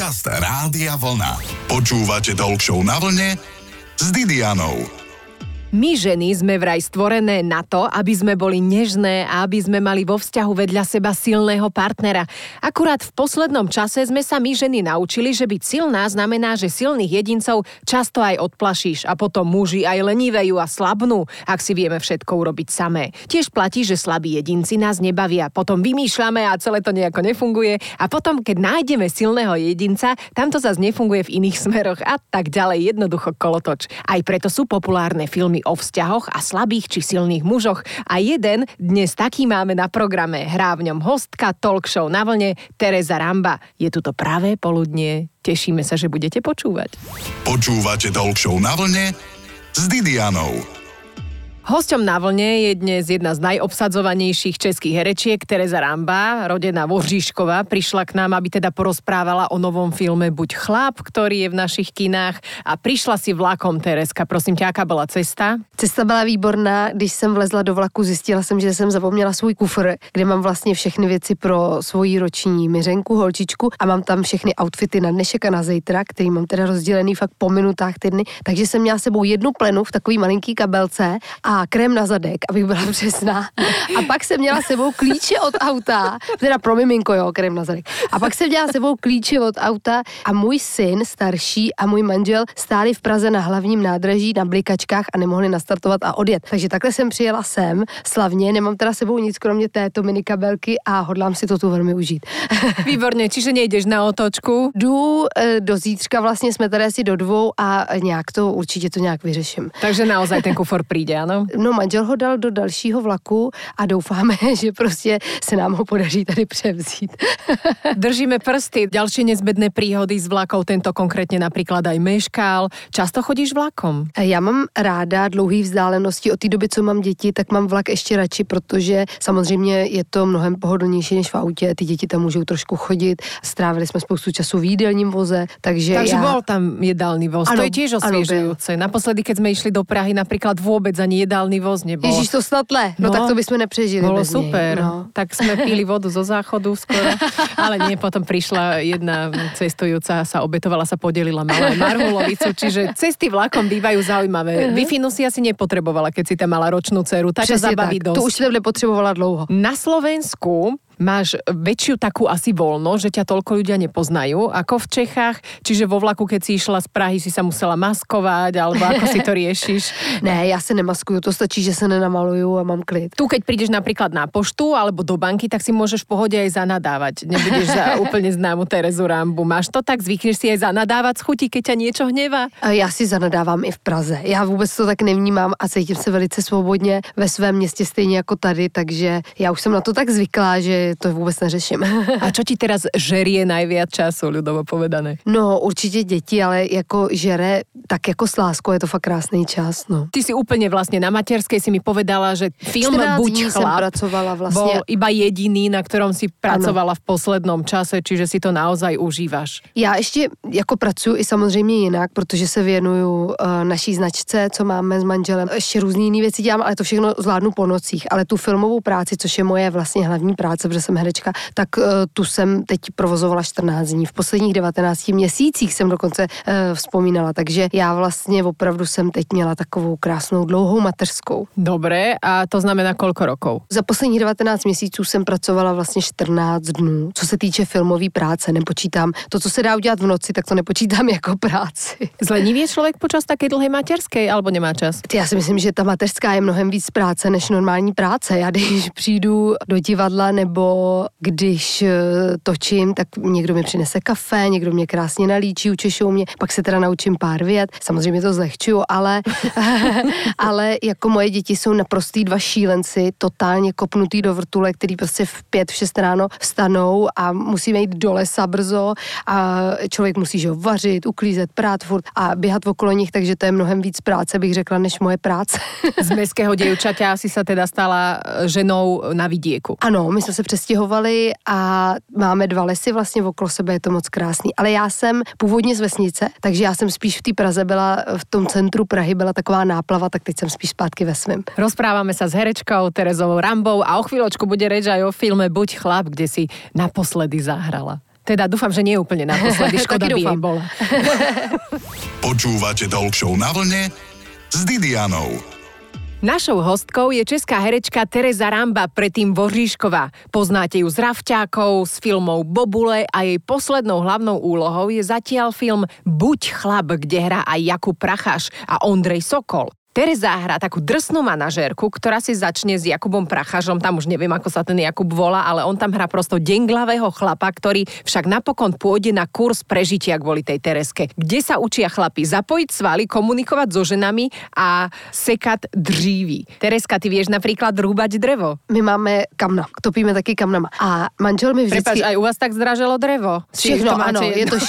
Podcast Rádia Vlna. Počúvate Talk Show na vlne s Didianou. My ženy sme vraj stvorené na to, aby sme boli nežné a aby sme mali vo vzťahu vedľa seba silného partnera. Akurát v poslednom čase sme sa my ženy naučili, že byť silná znamená, že silných jedincov často aj odplašíš a potom muži aj lenivejú a slabnú, ak si vieme všetko urobiť samé. Tiež platí, že slabí jedinci nás nebavia, potom vymýšľame a celé to nejako nefunguje a potom, keď nájdeme silného jedinca, tam to zase nefunguje v iných smeroch a tak ďalej, jednoducho kolotoč. Aj preto sú populárne filmy o vzťahoch a slabých či silných mužoch. A jeden dnes taký máme na programe. Hrá v ňom hostka Talk Show na vlne Tereza Ramba. Je tu to pravé poludnie. Tešíme sa, že budete počúvať. Počúvate Talk Show na vlne s Didianou. Hosťom na vlne je dnes jedna z najobsadzovanejších českých herečiek, Tereza Ramba, rodená vo Žižkova. Prišla k nám, aby teda porozprávala o novom filme Buď chlap, ktorý je v našich kinách. A prišla si vlakom, Terezka. Prosím ťa, aká bola cesta? Cesta byla výborná. Když jsem vlezla do vlaku, zjistila jsem, že jsem zapomněla svůj kufr, kde mám vlastně všechny věci pro svoji roční Miřenku, holčičku, a mám tam všechny outfity na dnešek a na zítra, který mám teda rozdělený fakt po minutách týdny. Takže jsem měla sebou jednu plenu v takový malinký kabelce a krém na zadek, abych byla přesná. A pak jsem měla sebou klíče od auta, teda pro miminko, jo, krém na zadek. A pak jsem měla sebou klíče od auta a můj syn starší a můj manžel stáli v Praze na hlavním nádraží na blikačkách a nemohli nastartovat a odjet. Takže takhle jsem přijela sem slavně, nemám teda sebou nic kromě této minikabelky a hodlám si to tu velmi užít. Výborně, čiže nejdeš na otočku? Jdu do zítřka, vlastně jsme tady asi do 2 a nějak to, určitě to nějak vyřeším. Takže naozaj ten kufor přijde, ano? No, manžel ho dal do dalšího vlaku a doufáme, že prostě se nám ho podaří tady převzít. Držíme prsty. Ďalšie nezbedné príhody s vlakou, tento konkrétne napríklad aj meškal. Často chodíš vlakom? Já mám ráda dlouhý vzdálenosti. Od té doby, co mám děti, tak mám vlak ještě radši, protože samozřejmě je to mnohem pohodlnější než v autě. Ty děti tam můžou trošku chodit. Strávili jsme spoustu času v jídelním voze, takže bol tam jedálny voz. Ano, to je tiež osviežujúce. Naposledy, keď sme išli do Prahy, napríklad vôbec ani jedálny voz nebol. Ježíš, to snad no tak to bychom nepřežili. Bolo bez super. Nej, no. Tak sme pili vodu zo záchodu skoro. Ale nie, potom prišla jedna cestujúca, sa obetovala, sa podelila, mala aj marhulovicu, čiže cesty vlakom bývajú zaujímavé. Wi-Fi si asi nepotrebovala, keď si tam mala ročnú dceru. Tá ťa zabaví dosť. To už jsem nepotřebovala dlouho. Na Slovensku máš väčšiu takú asi voľnosť, že ťa toľko ľudia nepoznajú, ako v Čechách. Čiže vo vlaku, keď si išla z Prahy, si sa musela maskovať, alebo ako si to riešiš? Ne, já se nemaskuju, to stačí, že se nenamaluju a mám klid. Tu, keď prídeš napríklad na poštu alebo do banky, tak si môžeš v pohode aj zanadávať. Nebudeš za úplne známu Terezu Rambu. Máš to tak? Zvykneš si aj zanadávať z chuti, keď ťa niečo hnevá? Já si zanadávám i v Praze. Já vůbec to tak nevnímám a cítím se velice svobodně ve svém městě stejně jako tady, takže já už jsem na to tak zvyklá, že to vůbec neřeším. A čo ti teraz žerie najviac času, ľudovo povedané? No, určitě děti, ale jako žere, tak jako s láskou je to fakt krásný čas, no. Ty si úplne vlastne na materskej si mi povedala, že film Buď chlap bol iba jediný, na ktorom si pracovala v poslednom čase, čiže si to naozaj užívaš. Já ještě jako pracuji i samozřejmě jinak, protože se věnuju naší značce, co máme s manželem. Ještě různý jiný věci dělám, ale to všechno zvládnu po nocích. Ale tu filmovou práci, což je moje vlastně hlavní práce, protože jsem herečka, tak tu jsem teď provozovala 14 dní. V posledních 19 měsících jsem dokonce vzpomínala, takže já vlastně opravdu jsem teď měla takovou krásnou dlouhou mateřskou. Dobre, a to znamená koľko rokov? Za posledních 19 měsíců jsem pracovala vlastně 14 dnů. Co se týče filmové práce, nepočítám. To, co se dá udělat v noci, tak to nepočítám jako práci. Zlenivie člověk počas také dlhé materskej, alebo nemá čas? Já si myslím, že ta mateřská je mnohem víc práce než normální práce. Já když přijdu do divadla nebo když točím, tak někdo mi přinese kafe, někdo mě krásně nalíčí, učešou mě, pak se teda naučím pár vět. Samozřejmě to zlehčuju, ale jako moje děti jsou naprostý dva šílenci, totálně kopnutý do vrtule, který prostě v 5, v 6 ráno vstanou a musíme jít do lesa brzo a člověk musí že vařit, uklízet, prát furt a běhat okolo nich, takže to je mnohem víc práce, bych řekla, než moje práce. Z mestského dievčaťa si sa teda stala ženou na vidieku. Ano, my jsme se přestěhovali a máme 2 lesy vlastně okolo sebe, je to moc krásný. Ale já jsem původně z vesnice, takže já jsem spíš v té Praze byla, v tom centru Prahy byla taková náplava, tak teď jsem spíš zpátky ve svém. Rozprávame sa s herečkou Terezou Rambou a o chvíľočku bude reč aj o filme Buď chlap, kde si naposledy zahrala. Teda dúfam, že nie je úplne naposledy, škoda by jej bola. Počúvate Talk Show na vlne s Didianou. Našou hostkou je česká herečka Tereza Ramba, predtým Voříšková. Poznáte ju z Rafťákov, z filmov Bobule a jej poslednou hlavnou úlohou je zatiaľ film Buď chlap, kde hrá aj Jakub Pracháš a Ondrej Sokol. Tereza hrá takú drsnú manažérku, ktorá si začne s Jakubom Prachážom, tam už neviem, ako sa ten Jakub volá, ale on tam hrá prosto denglavého chlapa, ktorý však napokon pôjde na kurz prežitia kvôli tej Terezke, kde sa učia chlapi zapojiť svaly, komunikovať so ženami a sekať dříví. Terezka, ty vieš napríklad rúbať drevo? My máme kamna, topíme taky kamnama. A manžel mi vždycky... Prepáč, aj u vás tak zdraželo drevo? Všechno, ano, je to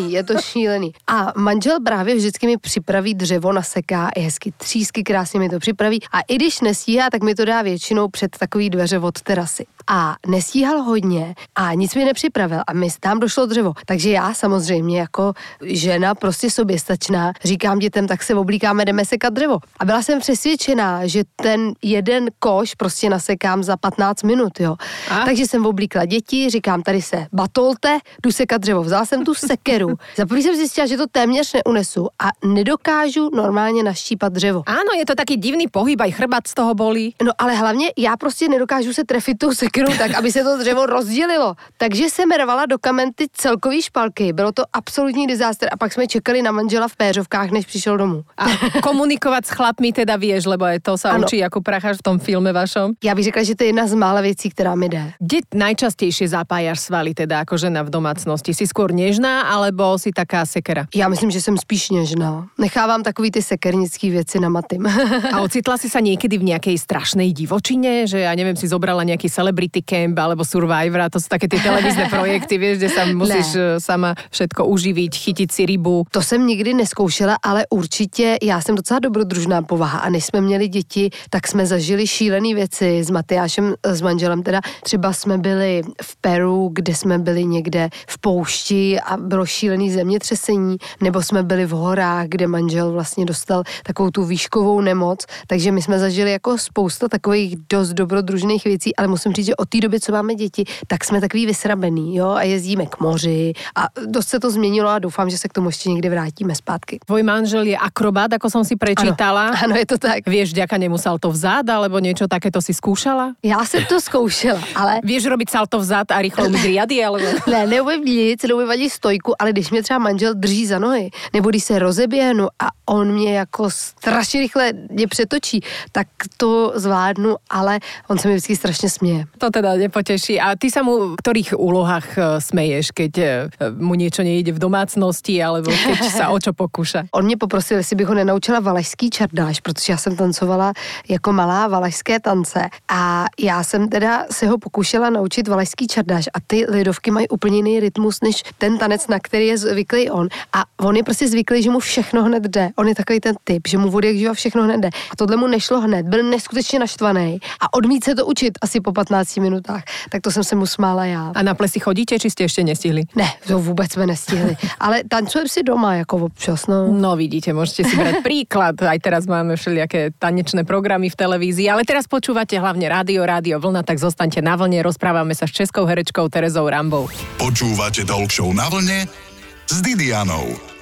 šílený. A manžel právě vždycky mi připraví dřevo, naseká i hezky třísky, krásně mi to připraví. A i když nestíhá, tak mi to dá většinou před takový dveře od terasy. A nestíhal hodně a nic mi nepřipravil a mi tam došlo dřevo. Takže já samozřejmě jako žena prostě soběstačná říkám dětem, tak se oblíkáme, jdeme sekat dřevo. A byla jsem přesvědčená, že ten jeden koš prostě nasekám za 15 minut, jo. Takže jsem oblíkla děti, říkám, tady se batolte, jdu sekat dřevo. Vzala jsem tu sekeru. Za první jsem zjistila, že to téměř neunesu a nedokážu normálně naštípat dřevo. Áno, je to taký divný pohyb, aj chrbát z toho bolí. No ale hlavně já prostě nedokážu se trefit tou sekerou tak, aby se to dřevo rozdělilo. Takže jsem rvala do kamen ty celkový špalky. Bylo to absolutní disaster a pak jsme čekali na manžela v péřovkách, než přišel domů. A komunikovať s chlapmi teda vieš, lebo aj to sa učí Jakub Pracháš v tom filme vašom. Já bych řekla, že to je jedna z mála věcí, která mi jde. Kde najčastejšie zapájaš svaly teda ako žena v domácnosti? Si skôr nežná, alebo si taká sekera? Já myslím, že jsem spíš nežná. Nechávám takový ty sekernický věci na matým. A ocitla si sa niekedy v nejakej strašnej divočine, že ja neviem, si zobrala nejaký celebrity camp alebo Survivor, to sú také tie televízne projekty, vieš, kde sa musíš sama všetko uživiť, chytiť si rybu. To jsem nikdy neskoušela, ale určitě já jsem docela dobrodružná povaha a než jsme měli děti, tak jsme zažili šílené věci s Matyášem, s manželem teda. Třeba jsme byli v Peru, kde jsme byli někde v poušti a bylo šílený zemětřesení, nebo jsme byli v horách, kde manžel vlastně dostal takovou tu výškovou nemoc, takže my jsme zažili jako spousta takových dost dobrodružných věcí, ale musím říct, že od té doby, co máme děti, tak jsme takový vysrabený, jo, a jezdíme k moři a dost se to změnilo a doufám, že se k tomu ještě někdy vrátíme zpátky. Tvoj manžel je akrobát, ako som si prečítala. Ano, je to tak. Vieš, vďaka nemu salto vzad, alebo niečo takéto si skúšala? Já jsem to zkoušela, ale... Vieš robiť salto vzad a rýchlo umyť riady, alebo... Ne, neumím nic, neumím ani stojku, ale když mě třeba manžel drží za nohy, nebo když se rozeběhnu a on mě jako strašně rychle mě přetočí, tak to zvládnu, ale on se mi vždycky strašně směje. To teda nepoteší. A ty sa mu v ktorých úlohách smeješ, keď mu niečo nejde v domácnosti, alebo keď sa o čo pokúša? On mě poprosil, jestli bych ho nenaučila valašský čardáš, protože já jsem tancovala jako malá valašské tance a já jsem teda se ho pokoušela naučit valašský čardáš a ty lidovky mají úplně jiný rytmus než ten tanec, na který je zvyklý on. A on je prostě zvyklý, že mu všechno hned jde. On je takový ten typ, že mu vody jak živa všechno hned jde. A tohle mu nešlo hned, byl neskutečně naštvaný a odmít se to učit asi po 15 minutách. Tak to jsem se mu smála já. A na plesy chodíte, či ste ešte nestihli? Ne, to vůbec jsme nestihli. Ale tancujeme si doma jako občas, no. No vidíte, môžete si brať príklad. Aj teraz máme všelijaké tanečné programy v televízii, ale teraz počúvate hlavne Rádio Vlna, tak zostaňte na vlne. Rozprávame sa s českou herečkou Terezou Rambou. Počúvate Talk Show na vlne s Didianou.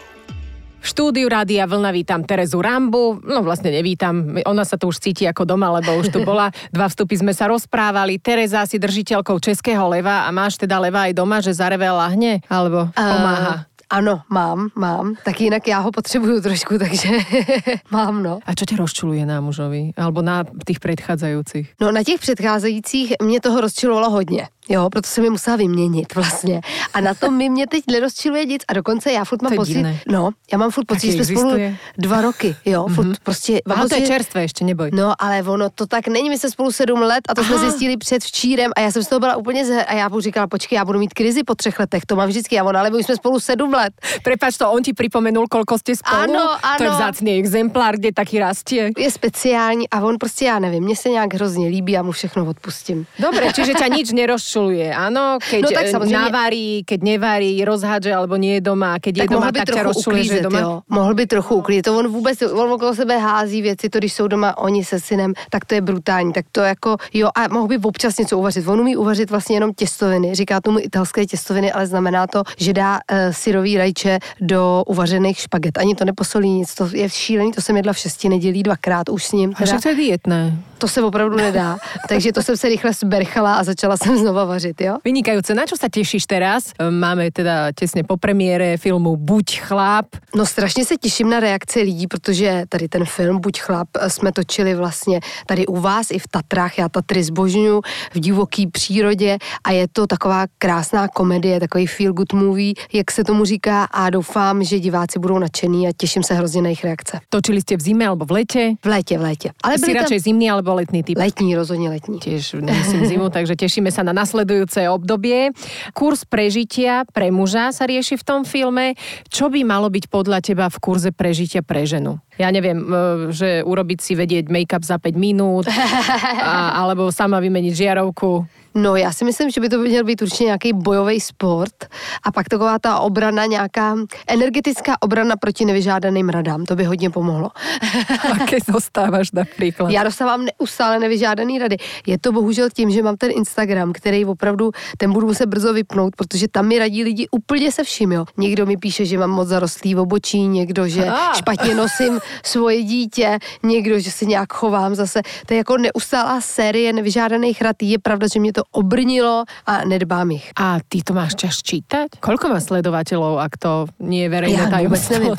V štúdiu Rádia Vlna vítam Terezu Rambu. No vlastne nevítam, ona sa tu už cíti ako doma, lebo už tu bola. 2 vstupy sme sa rozprávali. Tereza, si držiteľkou Českého leva a máš teda leva aj doma, že zareve lahne? Alebo pomáha? Ano, mám. Tak jinak já ho potřebuju trošku, takže mám, no. A čo ťa rozčuluje na mužovi? Alebo na tých predchádzajúcich? No na těch předcházejících mě toho rozčilovalo hodně. Jo, proto jsem je musela vyměnit vlastně. A na tom mě teď nerozčiluje nic a dokonce já furt mám pocit, no, já mám furt pocit, že jsme spolu 2 roky, jo, furt prostě. Aha, to je čerstvé ještě, neboj. No, ale ono to tak není, my jsme spolu 7 let a to jsme zjistili předvčírem a já jsem z toho byla úplně a já mu říkala, počkej, já budu mít krizi po 3 letech, to mám vždycky, a ona, ale my jsme spolu 7 let. Prepáč, to on ti pripomenul, koľko ste spolu? Ano. To je vzácný exemplár, kde taký rastie. Je speciální a on prostě, já nevím, mně se nějak hrozně líbí a mu všechno odpustím. Dobre, čiže ťa nič nerozčuluje. rozčuluje, áno, keď navarí, keď nevarí, rozhádže alebo nie je doma, keď je doma, tak ťa rozčuluje, že je doma. Jo. Mohl by trochu uklízet. On okolo sebe hází věci, to když jsou doma oni se synem, tak to je brutální. Tak to jako, jo, a mohl by občas něco uvařit. On umí uvařit vlastně jenom těstoviny. Říká tomu italské těstoviny, ale znamená to, že dá syrový rajče do uvařených špaget. Ani to neposolí nic. To je šílený, to jsem jedla v 6 nedělí 2krát už s ním. A však to je dietné. To se opravdu nedá. Takže to jsem se rychle zberchala a začala jsem znova vařit, jo? Vynikajúce. Na čo sa tešíš teraz? Máme teda tesne po premiére filmu Buď chlap. No strašně se těším na reakce lidí, protože tady ten film Buď chlap jsme točili vlastně tady u vás i v Tatrách. Já Tatry zbožňuju v divoký přírodě a je to taková krásná komedie, takový feel good movie, jak se tomu říká, a doufám, že diváci budou nadšení a těším se hrozně na jejich reakce. Točili ste v zime alebo v lete? V létě. Ale si radšej zimný alebo letný typ? Letní, rozhodně letní. Tiež nemyslím zimu, takže tešíme sa na nasledujúce obdobie. Kurz prežitia pre muža sa rieši v tom filme. Čo by malo byť podľa teba v kurze prežitia pre ženu? Ja neviem, že urobiť si vedieť make-up za 5 minút, alebo sama vymeniť žiarovku. No, já si myslím, že by to měl být určitě nějaký bojový sport a pak taková ta obrana, nějaká energetická obrana proti nevyžádaným radám. To by hodně pomohlo. Aké dostáváš například? Já dostávám neustále nevyžádaný rady. Je to bohužel tím, že mám ten Instagram, který opravdu, ten budu muset brzo vypnout, protože tam mi radí lidi úplně se vším, jo. Někdo mi píše, že mám moc zarostlý obočí, někdo, že špatně nosím svoje dítě, někdo, že se nějak chovám zase. To je jako neustálá série nevyžádaných rad. Je pravda, že mě to obrnilo a nedbám ich. A ty to máš čas čítať? Koľko má sledovateľov, ak to nie je verejné tajomstvo?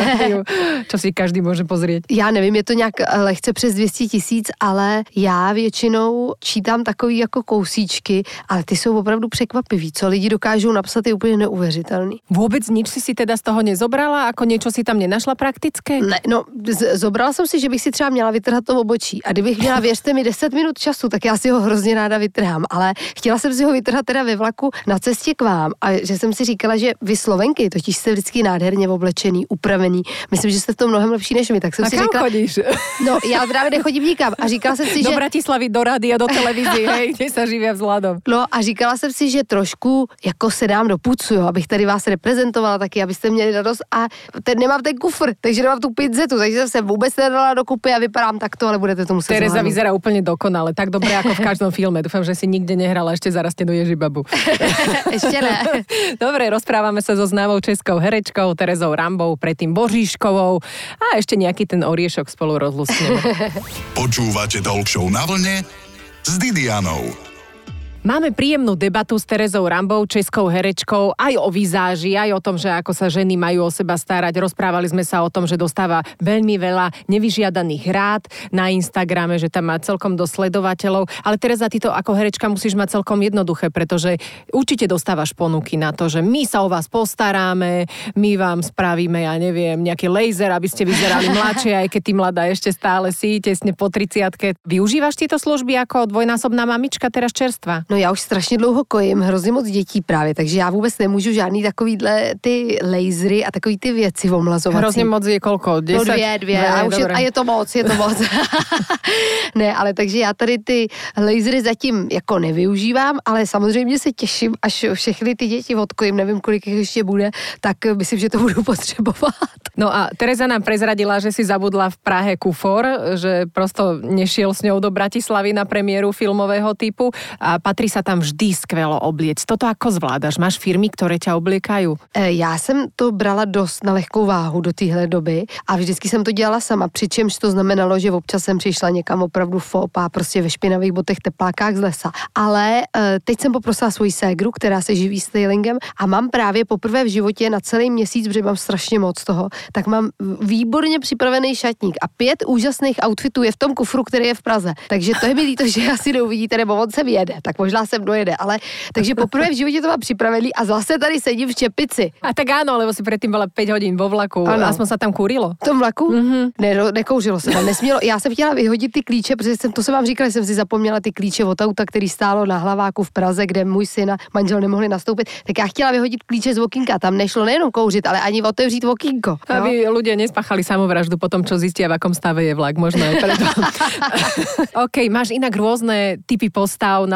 Čo si každý môže pozrieť? Já nevím, je to nějak lehce přes 200 000, ale já většinou čítám takový jako kousíčky, ale ty jsou opravdu překvapivý. Co lidi dokážou napsat, je úplně neuvěřitelný. Vůbec nič si teda z toho nezobrala? Ako niečo si tam nenašla praktické? Ne, no, zobrala jsem si, že bych si třeba měla vytrhat to obočí. A kdybych měla, věřte mi, 10 minut času, tak já si ho hrozně ráda vytrhám. Ale chtěla jsem si ho vytrhat teda ve vlaku na cestě k vám a že jsem si říkala, že vy Slovenky totiž jste vždycky nádherně oblečený, upravený. Myslím, že jste v tom mnohem lepší než my. Tak jsem si kam říkala, chodíš? No, já právě nechodím nikam a říkala jsem si, do že Bratislavy, do rádia, do televízie, hej, kde sa živia vzhľadom. No a říkala jsem si, že trošku jako se dám do pucu, jo, abych tady vás reprezentovala taky, abyste měli radost a nemám ten kufr, takže nemám tu pinzetu, takže jsem se vůbec nedala dokupy a vypadám takto, ale budete to muset Tereza vyzerá úplně dokonale, tak dobré ako v každom filme. Dúfam, že si nikde nehrala ešte zarastenú Ježibabu. Ešte ne. Dobre, rozprávame sa so známou českou herečkou Terezou Rambou, predtým Boříškovou a ešte nejaký ten oriešok spolu rozlúskneme. Počúvate Talk Show na vlne s Didianou. Máme príjemnú debatu s Terezou Rambou, českou herečkou, aj o vizáži, aj o tom, že ako sa ženy majú o seba starať. Rozprávali sme sa o tom, že dostáva veľmi veľa nevyžiadaných rád na Instagrame, že tam má celkom dosť sledovateľov. Ale Tereza, ty to ako herečka musíš mať celkom jednoduché, pretože určite dostávaš ponuky na to, že my sa o vás postaráme, my vám spravíme, ja neviem, nejaký laser, aby ste vyzerali mladšie, aj keď ty mladá ešte stále si, tesne po 30-ke. Využívaš tieto služby ako dvojnásobná mamička teraz čerstva? No já už strašně dlouho kojím, hrozně moc dětí právě, takže já vůbec nemůžu žádný takovýhle ty lasery a takový ty věci omlazovací. Hrozně moc je kolko? 10? No dvě. A je to moc. Ne, ale takže já tady ty lasery zatím jako nevyužívám, ale samozřejmě se těším, až všechny ty děti odkojím, nevím, kolik jich ještě bude, tak myslím, že to budu potřebovat. No a Tereza nám prezradila, že si zabudla v Prahe kufor, že prosto nešiel s ňou do Bratislavy na premiéru filmového typu a patrí sa tam vždy skvelo obliec. Toto ako zvládaš? Máš firmy, ktoré ťa obliekajú? Já jsem to brala dost na lehkou váhu do téhle doby a vždycky jsem to dělala sama, přičemž to znamenalo, že občas jsem přišla někam opravdu fopá, prostě ve špinavých botech, teplákách z lesa. Ale teď jsem poprosila svoji ségru, která se živí stylingem a mám právě poprvé v životě na celý měsíc, protože mám strašně moc toho, tak mám výborně připravený šatník a 5 úžasných outfitů je v tom kufru, který je v Praze. Takže to je mi líto, že asi neuvidíte, nebo on se vyjede, tak možná sem dojede, ale takže poprvé v životě to mám připravený a zase tady sedím v čepici. A tak áno, lebo si predtým bola 5 hodín vo vlaku. Ano. Aspoň sa tam kúrilo. V tom vlaku? Ne, nekouřilo se tam, nesmělo. Já jsem chtěla vyhodit ty klíče, protože to jsem vám říkala, že jsem si zapomněla ty klíče od auta, který stálo na Hlaváku v Praze, kde můj syn a manžel nemohli nastoupit. Tak já chtěla vyhodit klíče z okýnka. Tam nešlo nejenom kouřit, ale ani otevřít okýnko. Aby ľudia nespáchali samovraždu po tom, čo zistia, v akom stave je vlak. Možno aj preto. OK, máš inak rôzne typy postav na svojom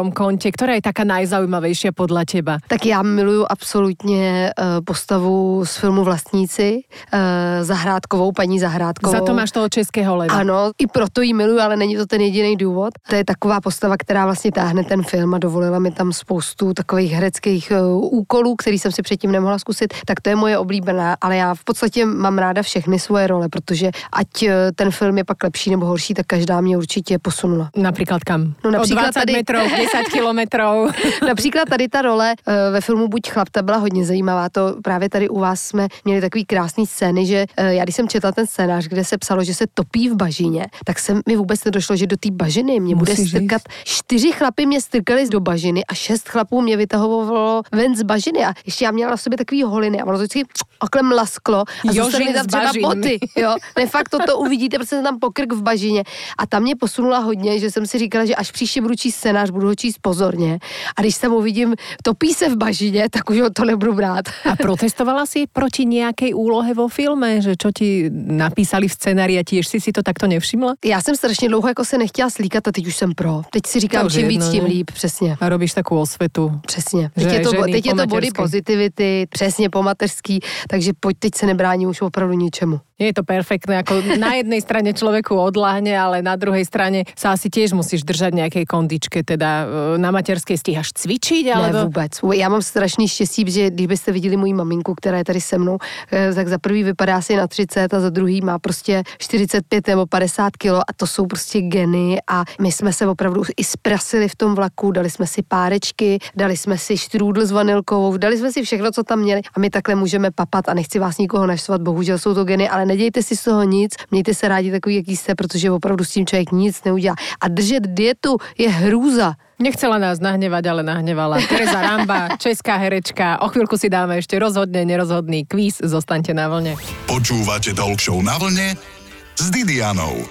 tom konte, ktorá je taká najzaujímavejšia podľa teba? Tak já miluju absolutně postavu z filmu Vlastníci, Zahrádkovou, paní Zahrádkovou. Za to máš toho českého leva. Ano, i proto ji miluju, ale není to ten jediný důvod. To je taková postava, která vlastně táhne ten film a dovolila mi tam spoustu takových hereckých úkolů, který jsem si předtím nemohla zkusit. Tak to je moje oblíbená, ale já v podstatě mám ráda všechny svoje role, protože ať ten film je pak lepší nebo horší, tak každá mě určitě posunula. Například kam? No, například o 20 tady... metrov, 10 kilometrov. Například tady ta role ve filmu Buď chlap, ta byla hodně zajímavá. To právě tady u vás jsme měli takový krásný scény, že já když jsem četla ten scénář, kde se psalo, že se topí v bažině, tak se mi vůbec nedošlo, že do té bažiny mě bude strkat. 4 chlapy mě strkali do bažiny a 6 chlapů mě vytahovalo ven z bažiny a ještě já měla v sobě takový holiny a ono to vždycky okle mlasklo a zůstaly mi tam třeba boty. Jo? Ne, fakt to uvidíte, protože jsem tam pokrk v bažině a tam mě posunula hodně, že jsem si říkala, že až příště budu číst scénář, budu ho číst pozorně a když tam uvidím topí se v bažině, tak už to nebudu brát. A protestovala si proti nějakej úlohe vo filme, že čo ti napísali v scenári a tiež si to takto nevšimla? Já jsem strašně dlouho jako se nechtěla slíkat a teď už jsem pro. Teď si říkám, čím víc, tím líp, přesně. A robíš takovou osvetu. Přesně. Teď je to body positivity, přesně po mateřský, takže teď se nebrání už opravdu ničemu. Je to perfektné, ako na jednej strane človeku odláhne, ale na druhej strane sa asi tiež musíš držať nejakej kondičke, teda na materskej stíhaš cvičiť, alebo... Ne, vůbec. Já mám strašný štěstí, že když byste viděli moji maminku, která je tady se mnou, tak za prvý vypadá asi na 30 a za druhý má prostě 45 nebo 50 kilo a to jsou prostě geny a my jsme se opravdu i sprasili v tom vlaku, dali jsme si párečky, dali jsme si štrůdl s vanilkovou, dali jsme si všechno, co tam měli a my takhle můžeme papat a nechci vás nikoho naštvat, bohužel jsou to geny, ale nedějte si z toho nic, mějte se rádi takový, jaký jste, protože opravdu s tím člověk nic neudělá. A držet dietu je hrůza. Nechcela nás nahnevať, ale nahnevala. Tereza Ramba, česká herečka. O chvíľku si dáme ešte rozhodne nerozhodný kvíz. Zostaňte na vlne. Počúvate Talk Show Na vlne s Didianou.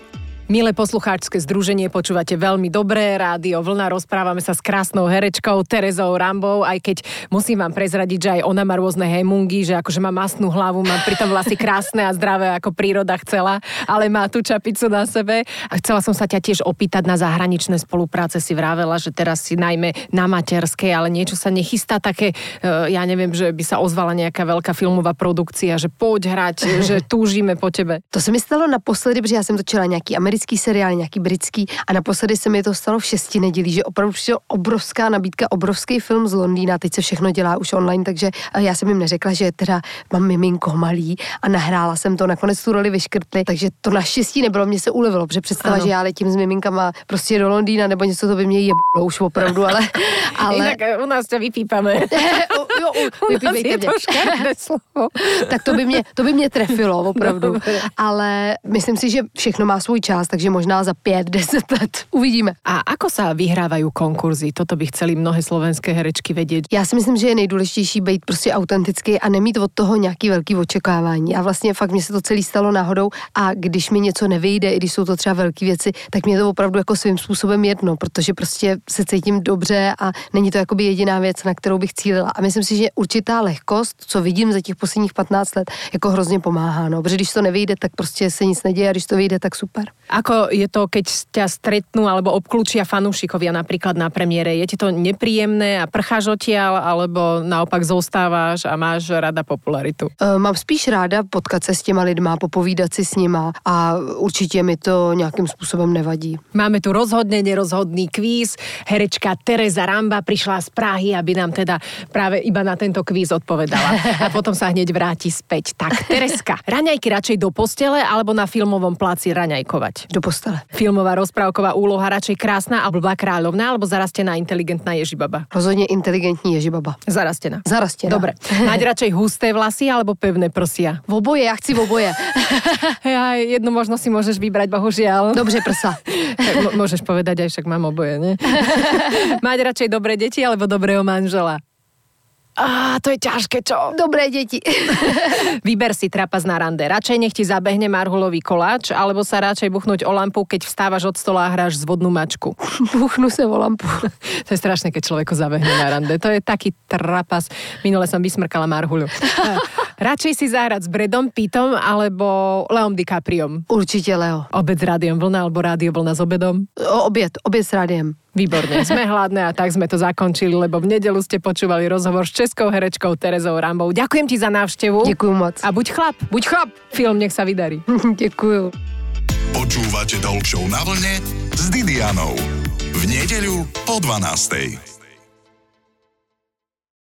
Milé poslucháčske združenie, počúvate veľmi dobré rádio Vlna, rozprávame sa s krásnou herečkou Terezou Rambou, aj keď musím vám prezradiť, že aj ona má rôzne hemungy, že akože má mastnú hlavu, má pritom vlasy krásne a zdravé, ako príroda chcela, ale má tú čapicu na sebe. A chcela som sa ťa tiež opýtať na zahraničné spolupráce, si vravela, že teraz si najmä na materskej, ale niečo sa nechystá také, ja neviem, že by sa ozvala nejaká veľká filmová produkcia, že poď hrať, že túžime po tebe. To se mi stalo naposledy, protože já jsem točila nějaký americký seriál, nějaký britský a naposledy se mi to stalo v 6 nedělí, že opravdu přišel obrovská nabídka, obrovský film z Londýna, teď se všechno dělá už online, takže já jsem jim neřekla, že teda mám miminko malý a nahrála jsem to, nakonec tu roli vyškrtli, takže to naštěstí nebylo, mě se ulevilo, protože představa, že já letím s miminkama prostě do Londýna nebo něco, to by mě jeblo už opravdu, ale... Inak u nás to vypípame. Vypípejte mě. Tak to by mě trefilo opravdu, ale myslím si, že všechno má svůj čas, takže možná za 5-10 let uvidíme. A ako sa vyhrávajú konkurzy? Toto by chceli mnohé slovenské herečky vědět. Já si myslím, že je nejdůležitější být prostě autentický a nemít od toho nějaký velký očekávání. A vlastně fakt mě se to celý stalo náhodou a když mi něco nevyjde, i když jsou to třeba velké věci, tak mě to opravdu jako svým způsobem jedno, protože prostě se cítím dobře a není to jakoby jediná věc, na kterou bych cílila. A myslím si, že určitá lehkost, co vidím za těch posledních 15 let, jako hrozně pomáhá, no, protože když to nevyjde, tak prostě se nic neděje a když to vyjde, tak super. Ako je to, keď ťa stretnú alebo obklúčia fanúšikovia napríklad na premiére? Je ti to nepríjemné a prcháš odtiaľ, alebo naopak zostáváš a máš rada popularitu? Mám spíš ráda potkat se s těma lidma, popovídat si s nima a určitě mi to nějakým způsobem nevadí. Máme tu rozhodne nerozhodný kvíz. Herečka Tereza Ramba prišla z Prahy, aby nám teda práve iba na tento kvíz odpovedala. A potom sa hneď vráti späť. Tak, Terezka, raňajky radšej do postele alebo na filmovom pláci raňajkovať? Do postele. Filmová rozprávková úloha radšej krásna a blbá kráľovná alebo zarastená inteligentná Ježibaba? Rozhodně inteligentní Ježibaba. Zarastená. Zarastená. Dobre. Mať radšej husté vlasy alebo pevné prsia? V oboje, já chci v oboje. Ja, jednu možno si môžeš vybrať, bohužiaľ. Dobře, prsa. Môžeš povedať, aj však mám oboje, ne? Mať radšej dobré deti alebo dobrého manžela? To je ťažké, čo? Dobré deti. Vyber si trapas na rande. Radšej nech ti zabehne marhulový koláč, alebo sa radšej buchnúť o lampu, keď vstávaš od stola a hráš zvodnú mačku. Buchnu sa o lampu. To je strašné, keď človeku zabehne na rande. To je taký trapas. Minule som vysmrkala marhuľu. Radšej si zahrať s Bradom Pittom alebo Leom DiCapriom? Určite Leo. Obed s Rádiom Vlna alebo Rádio Vlna s obedom? Obed s rádiem. Výborne, sme hladné a tak sme to zakončili, lebo v nedeľu ste počúvali rozhovor s českou herečkou Terezou Rambou. Ďakujem ti za návštevu. Ďakujem moc. A buď chlap. Buď chlap. Film nech sa vydarí. Ďakujem. Počúvate Talk Show na vlne s Didianou. V nedeľu po 12:00.